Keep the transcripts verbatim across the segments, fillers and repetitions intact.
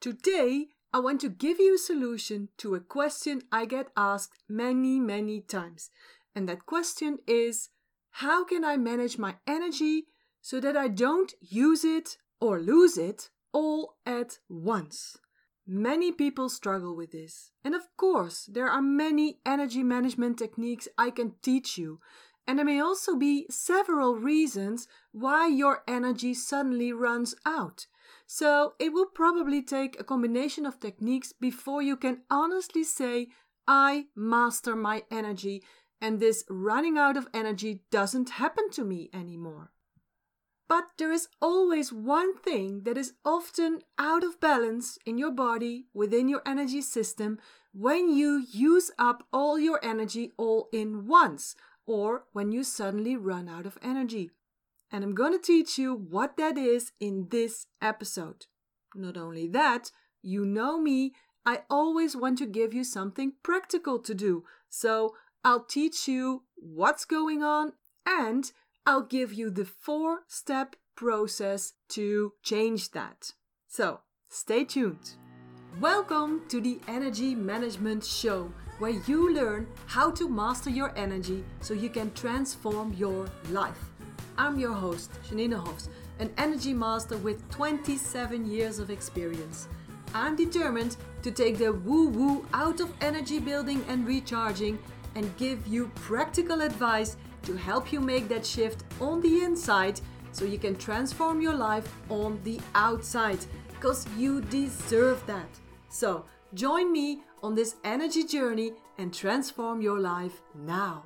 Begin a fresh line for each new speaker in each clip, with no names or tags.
Today, I want to give you a solution to a question I get asked many, many times. And that question is, how can I manage my energy so that I don't use it or lose it all at once? Many people struggle with this. And of course, there are many energy management techniques I can teach you. And there may also be several reasons why your energy suddenly runs out. So it will probably take a combination of techniques before you can honestly say, I master my energy and this running out of energy doesn't happen to me anymore. But there is always one thing that is often out of balance in your body, within your energy system, when you use up all your energy all in once, or when you suddenly run out of energy. And I'm going to teach you what that is in this episode. Not only that, you know me, I always want to give you something practical to do. So I'll teach you what's going on and I'll give you the four-step process to change that. So, stay tuned. Welcome to the Energy Management Show, where you learn how to master your energy so you can transform your life. I'm your host, Janine Hofs, an energy master with twenty-seven years of experience. I'm determined to take the woo-woo out of energy building and recharging and give you practical advice to help you make that shift on the inside so you can transform your life on the outside, because you deserve that. So join me on this energy journey and transform your life now.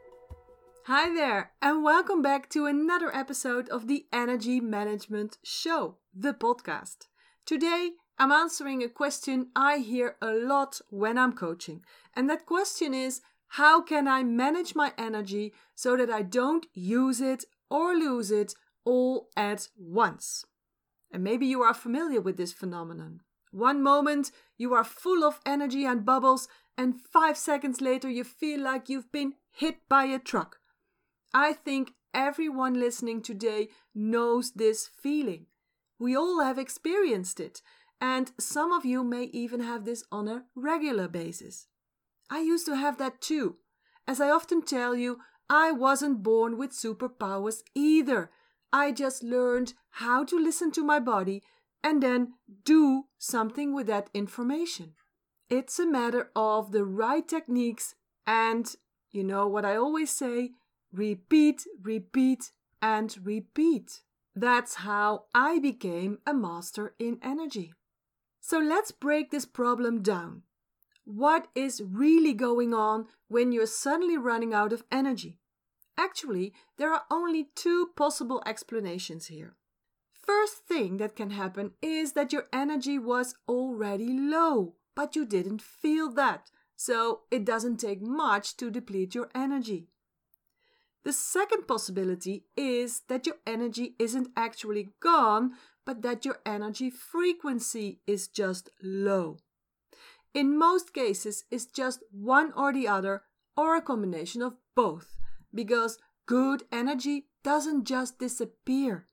Hi there, and welcome back to another episode of the Energy Management Show, the podcast. Today, I'm answering a question I hear a lot when I'm coaching. And that question is, how can I manage my energy so that I don't use it or lose it all at once? And maybe you are familiar with this phenomenon. One moment you are full of energy and bubbles, and five seconds later you feel like you've been hit by a truck. I think everyone listening today knows this feeling. We all have experienced it, and some of you may even have this on a regular basis. I used to have that too. As I often tell you, I wasn't born with superpowers either. I just learned how to listen to my body and then do something with that information. It's a matter of the right techniques and, you know what I always say, repeat, repeat, and repeat. That's how I became a master in energy. So let's break this problem down. What is really going on when you're suddenly running out of energy? Actually, there are only two possible explanations here. First thing that can happen is that your energy was already low, but you didn't feel that, so it doesn't take much to deplete your energy. The second possibility is that your energy isn't actually gone, but that your energy frequency is just low. In most cases, it's just one or the other, or a combination of both, because good energy doesn't just disappear.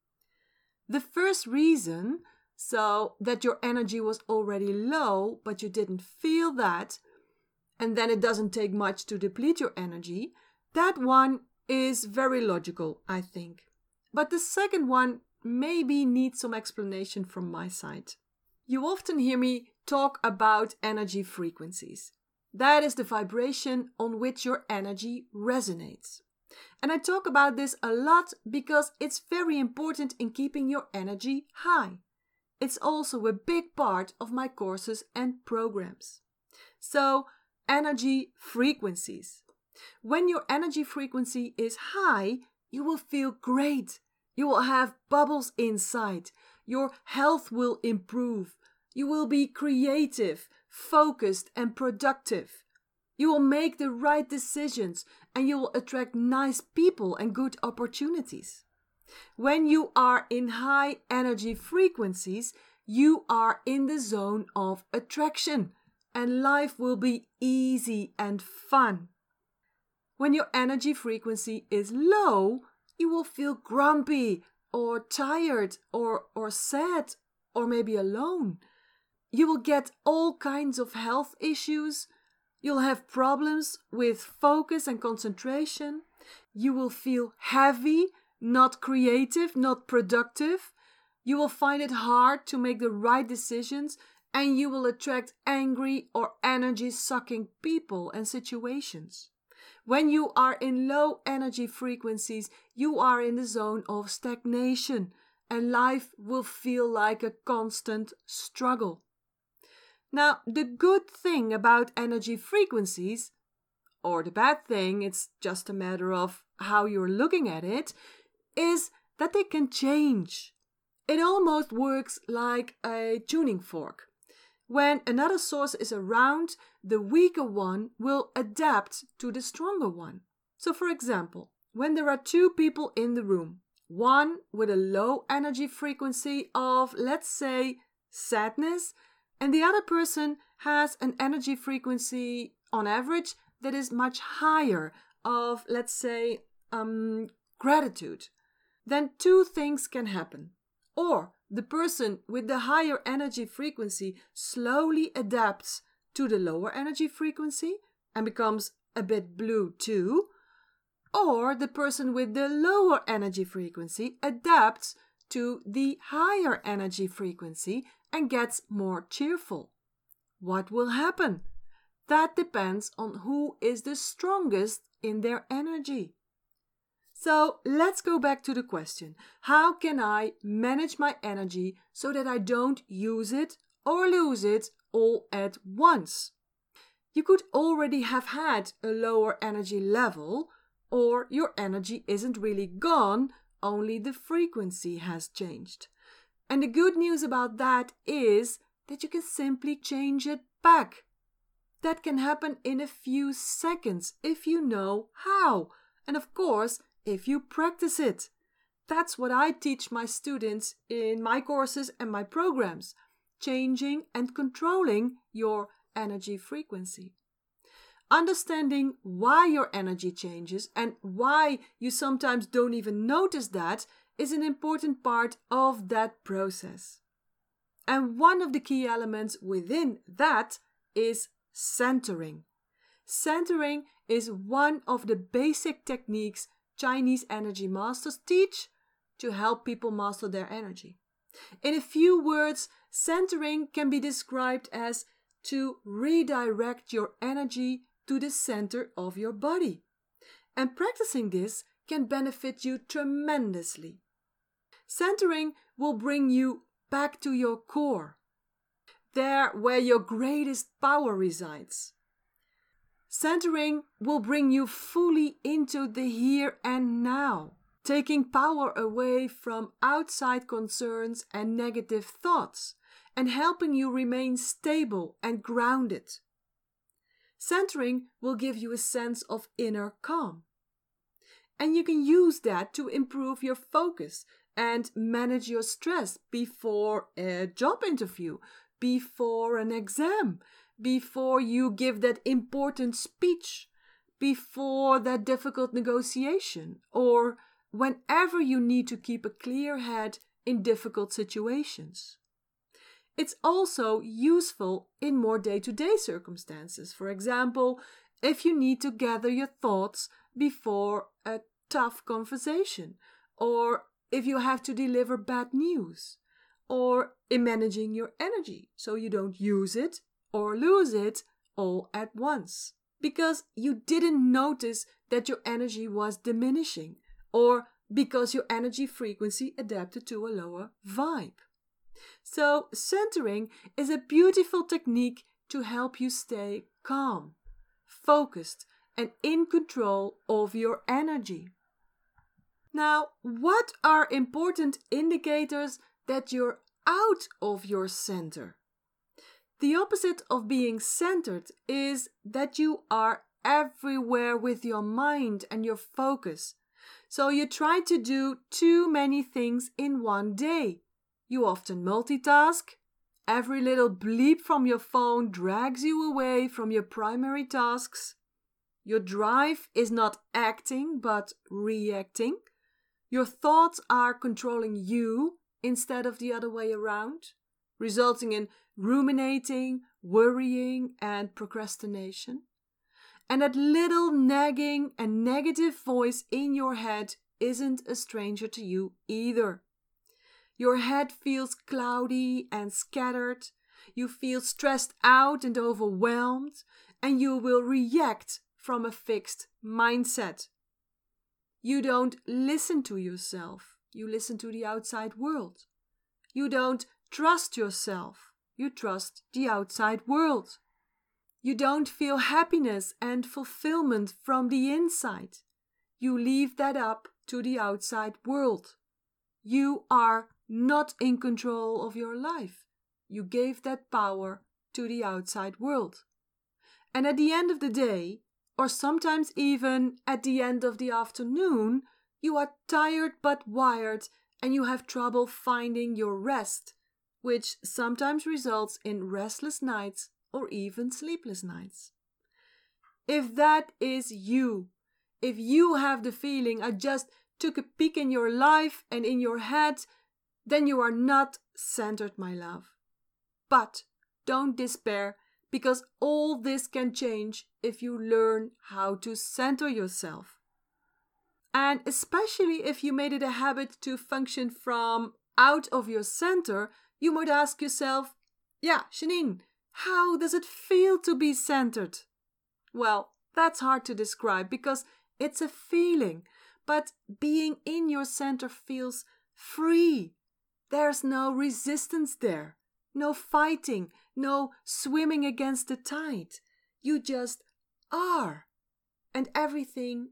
The first reason, so that your energy was already low, but you didn't feel that, and then it doesn't take much to deplete your energy, that one is very logical, I think. But the second one maybe needs some explanation from my side. You often hear me talk about energy frequencies. That is the vibration on which your energy resonates. And I talk about this a lot because it's very important in keeping your energy high. It's also a big part of my courses and programs. So, energy frequencies. When your energy frequency is high, you will feel great. You will have bubbles inside. Your health will improve. You will be creative, focused, and productive. You will make the right decisions and you will attract nice people and good opportunities. When you are in high energy frequencies, you are in the zone of attraction and life will be easy and fun. When your energy frequency is low, you will feel grumpy or tired or, or sad or maybe alone. you will get all kinds of health issues. You'll have problems with focus and concentration. You will feel heavy, not creative, not productive. You will find it hard to make the right decisions, and you will attract angry or energy-sucking people and situations. When you are in low energy frequencies, you are in the zone of stagnation, and life will feel like a constant struggle. Now, the good thing about energy frequencies, or the bad thing, it's just a matter of how you're looking at it, is that they can change. It almost works like a tuning fork. When another source is around, the weaker one will adapt to the stronger one. So for example, when there are two people in the room, one with a low energy frequency of, let's say, sadness, and the other person has an energy frequency on average that is much higher of, let's say, um, gratitude, then two things can happen. Or the person with the higher energy frequency slowly adapts to the lower energy frequency and becomes a bit blue too. Or the person with the lower energy frequency adapts to the higher energy frequency and gets more cheerful. What will happen? That depends on who is the strongest in their energy. So let's go back to the question. How can I manage my energy so that I don't use it or lose it all at once? You could already have had a lower energy level, or your energy isn't really gone, only the frequency has changed. And the good news about that is that you can simply change it back. That can happen in a few seconds if you know how. And of course, if you practice it. That's what I teach my students in my courses and my programs. Changing and controlling your energy frequency. Understanding why your energy changes and why you sometimes don't even notice that is an important part of that process. And one of the key elements within that is centering. Centering is one of the basic techniques Chinese energy masters teach to help people master their energy. In a few words, centering can be described as to redirect your energy to the center of your body. And practicing this can benefit you tremendously. Centering will bring you back to your core, there where your greatest power resides. Centering will bring you fully into the here and now, taking power away from outside concerns and negative thoughts, and helping you remain stable and grounded. Centering will give you a sense of inner calm. And you can use that to improve your focus and manage your stress before a job interview, before an exam, before you give that important speech, before that difficult negotiation, or whenever you need to keep a clear head in difficult situations. It's also useful in more day-to-day circumstances. For example, if you need to gather your thoughts before a tough conversation, or if you have to deliver bad news, or in managing your energy so you don't use it or lose it all at once, because you didn't notice that your energy was diminishing, or because your energy frequency adapted to a lower vibe. So centering is a beautiful technique to help you stay calm, focused, and in control of your energy. Now, what are important indicators that you're out of your center? The opposite of being centered is that you are everywhere with your mind and your focus. So you try to do too many things in one day. You often multitask. Every little bleep from your phone drags you away from your primary tasks. Your drive is not acting but reacting. Your thoughts are controlling you instead of the other way around. resulting in ruminating, worrying, and procrastination. And that little nagging and negative voice in your head isn't a stranger to you either. Your head feels cloudy and scattered. You feel stressed out and overwhelmed, and you will react from a fixed mindset. You don't listen to yourself. You listen to the outside world. You don't trust yourself. You trust the outside world. You don't feel happiness and fulfillment from the inside. You leave that up to the outside world. You are not in control of your life. You gave that power to the outside world. And at the end of the day, or sometimes even at the end of the afternoon, you are tired but wired and you have trouble finding your rest, which sometimes results in restless nights or even sleepless nights. If that is you, if you have the feeling I just took a peek in your life and in your head, then you are not centered, my love. But don't despair, because all this can change if you learn how to center yourself. And especially if you made it a habit to function from out of your center, you might ask yourself, yeah, Janine, how does it feel to be centered? Well, that's hard to describe because it's a feeling, but being in your center feels free. There's no resistance there, no fighting, no swimming against the tide. You just are, and everything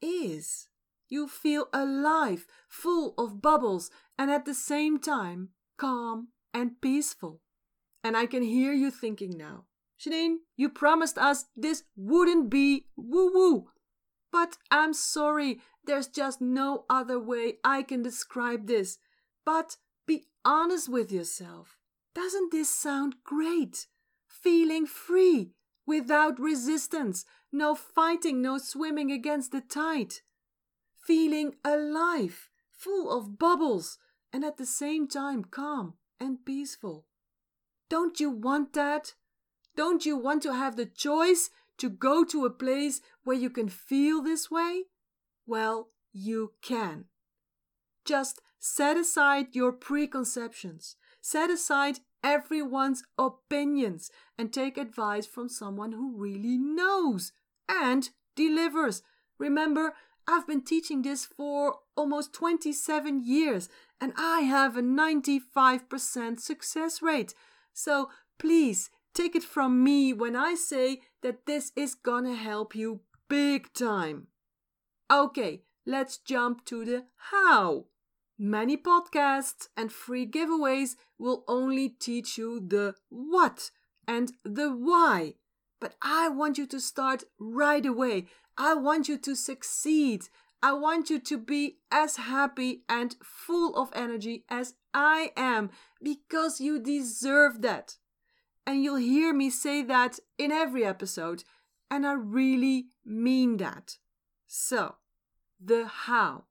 is. You feel alive, full of bubbles, and at the same time, calm and peaceful. And I can hear you thinking now, Janine, you promised us this wouldn't be woo-woo. But I'm sorry, there's just no other way I can describe this. But be honest with yourself. Doesn't this sound great? Feeling free, without resistance, no fighting, no swimming against the tide. Feeling alive, full of bubbles, and at the same time calm and peaceful. Don't you want that? Don't you want to have the choice to go to a place where you can feel this way? Well, you can. Just set aside your preconceptions. Set aside everyone's opinions and take advice from someone who really knows and delivers. Remember, I've been teaching this for almost twenty-seven years and I have a ninety-five percent success rate. So please take it from me when I say that this is gonna help you big time. Okay, let's jump to the how. Many podcasts and free giveaways will only teach you the what and the why. But I want you to start right away. I want you to succeed. I want you to be as happy and full of energy as I am, because you deserve that. And you'll hear me say that in every episode, and I really mean that. So, the how.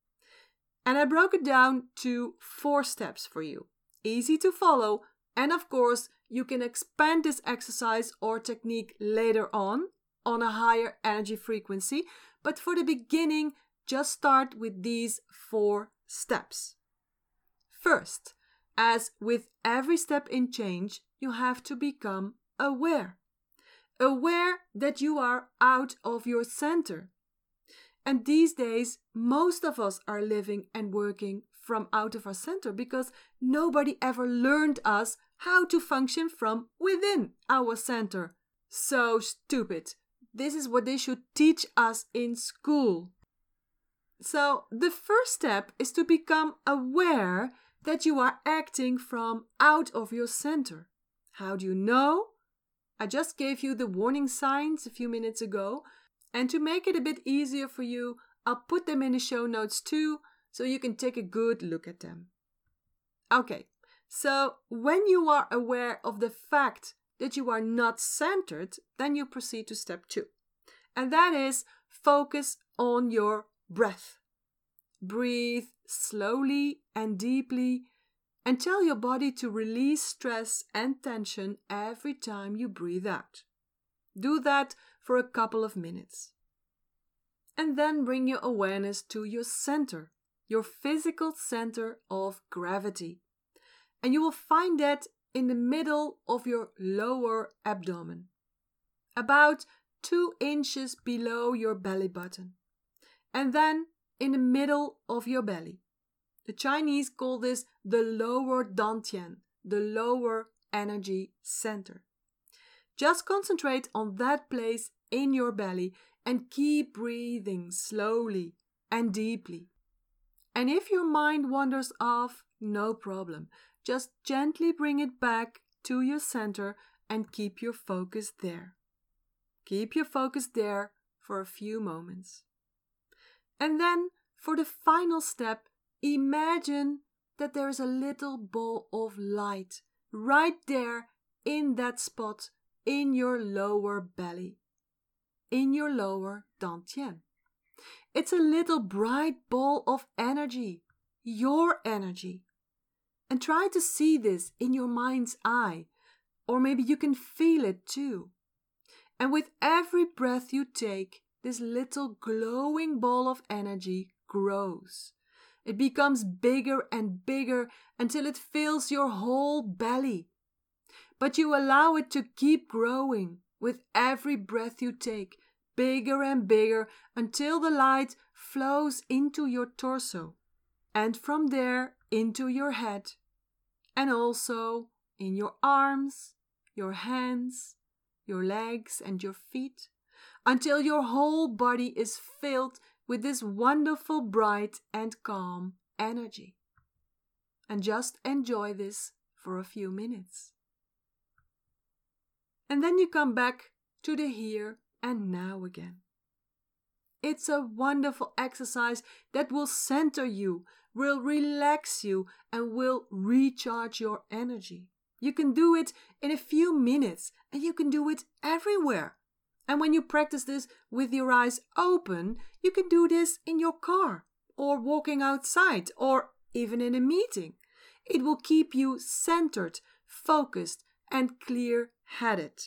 And I broke it down to four steps for you. Easy to follow, and of course, you can expand this exercise or technique later on, on a higher energy frequency. But for the beginning, just start with these four steps. First, as with every step in change, you have to become aware. Aware that you are out of your center. And these days, most of us are living and working from out of our center because nobody ever learned us how to function from within our center. So stupid. This is what they should teach us in school. So the first step is to become aware that you are acting from out of your center. How do you know? I just gave you the warning signs a few minutes ago. And to make it a bit easier for you, I'll put them in the show notes too, so you can take a good look at them. Okay, so when you are aware of the fact that you are not centered, then you proceed to step two. And that is focus on your breath. Breathe slowly and deeply and tell your body to release stress and tension every time you breathe out. Do that for a couple of minutes. And then bring your awareness to your center, your physical center of gravity. And you will find that in the middle of your lower abdomen, about two inches below your belly button, and then in the middle of your belly. The Chinese call this the lower dantian, the lower energy center. Just concentrate on that place in your belly and keep breathing slowly and deeply. And if your mind wanders off, no problem. Just gently bring it back to your center and keep your focus there. Keep your focus there for a few moments. And then, for the final step, imagine that there is a little ball of light right there in that spot in your lower belly, in your lower dantian. It's a little bright ball of energy, your energy. And try to see this in your mind's eye, or maybe you can feel it too. And with every breath you take, this little glowing ball of energy grows. It becomes bigger and bigger until it fills your whole belly. But you allow it to keep growing with every breath you take, bigger and bigger until the light flows into your torso, and from there into your head, and also in your arms, your hands, your legs and your feet, until your whole body is filled with this wonderful, bright and calm energy. And just enjoy this for a few minutes. And then you come back to the here and now again. It's a wonderful exercise that will center you, will relax you, and will recharge your energy. You can do it in a few minutes, and you can do it everywhere. And when you practice this with your eyes open, you can do this in your car, or walking outside, or even in a meeting. It will keep you centered, focused, and clear-headed.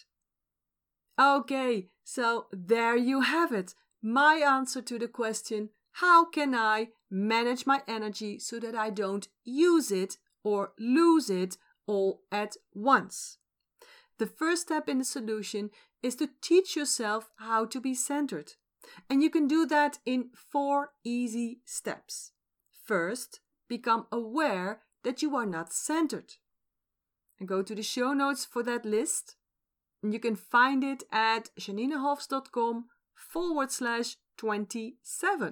Okay, so there you have it. My answer to the question, how can I manage my energy so that I don't use it or lose it all at once? The first step in the solution is to teach yourself how to be centered. And you can do that in four easy steps. First, become aware that you are not centered. And go to the show notes for that list. And you can find it at janinehofs.com forward slash 27.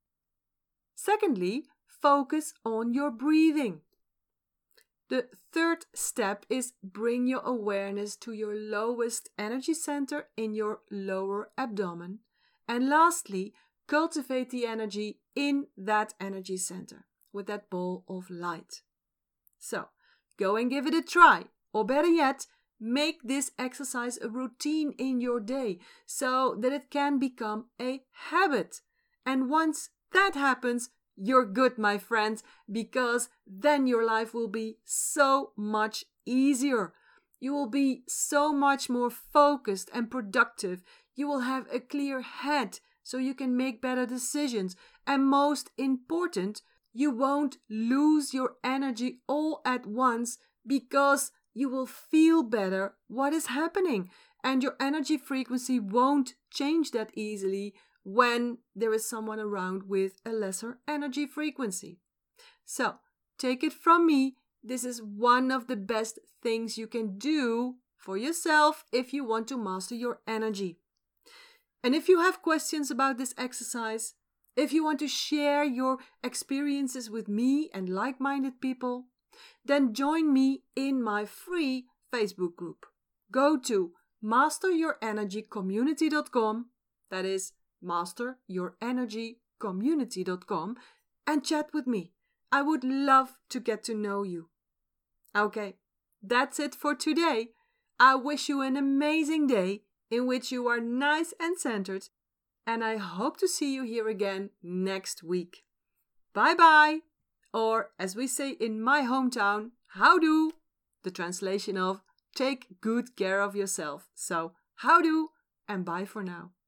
Secondly, focus on your breathing. The third step is bring your awareness to your lowest energy center in your lower abdomen. And lastly, cultivate the energy in that energy center with that ball of light. So, go and give it a try. Or better yet, make this exercise a routine in your day so that it can become a habit. And once that happens, you're good, my friends, because then your life will be so much easier. You will be so much more focused and productive. You will have a clear head so you can make better decisions. And most important, you won't lose your energy all at once because you will feel better what is happening. And your energy frequency won't change that easily when there is someone around with a lesser energy frequency. So, take it from me, this is one of the best things you can do for yourself if you want to master your energy. And if you have questions about this exercise, if you want to share your experiences with me and like-minded people, then join me in my free Facebook group. Go to master your energy community dot com, that is master your energy community dot com, and chat with me. I would love to get to know you. Okay, that's it for today. I wish you an amazing day in which you are nice and centered, and I hope to see you here again next week. Bye bye! Or, as we say in my hometown, houdoe, the translation of take good care of yourself. So, houdoe and bye for now.